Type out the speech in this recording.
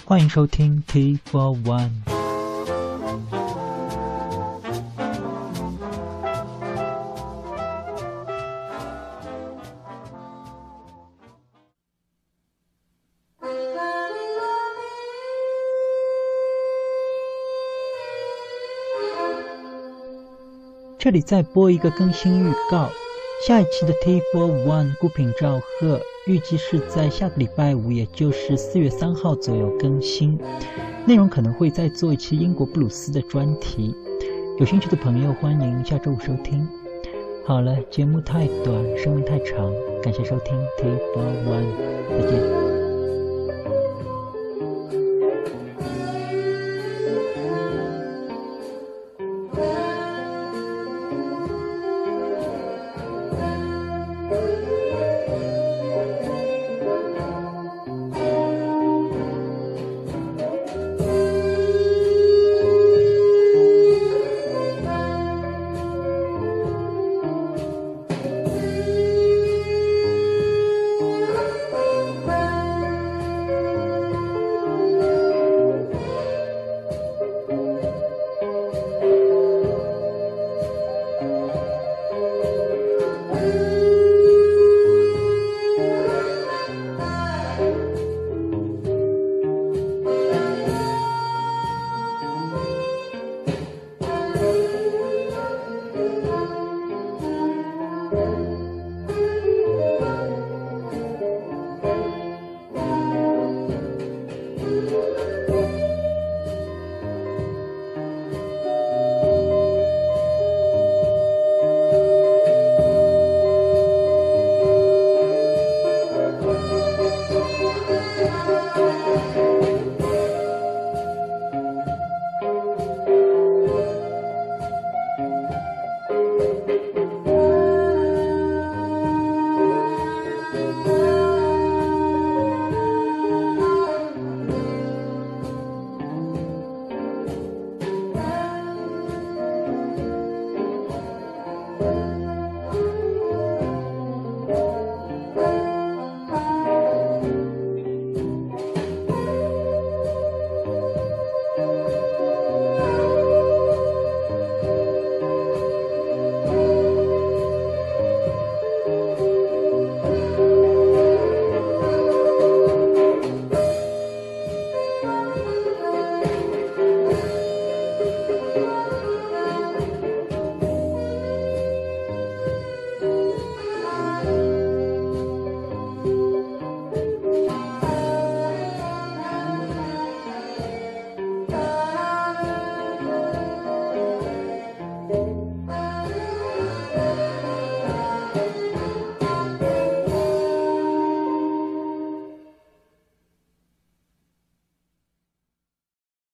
欢迎收听 T for One。这里再播一个更新预告，下一期的 T for One 孤品赵贺预计是在下个礼拜五，也就是4月3号左右更新。内容可能会再做一期英国布鲁斯的专题，有兴趣的朋友欢迎下周五收听。好了，节目太短，声音太长，感谢收听 T for One， 再见。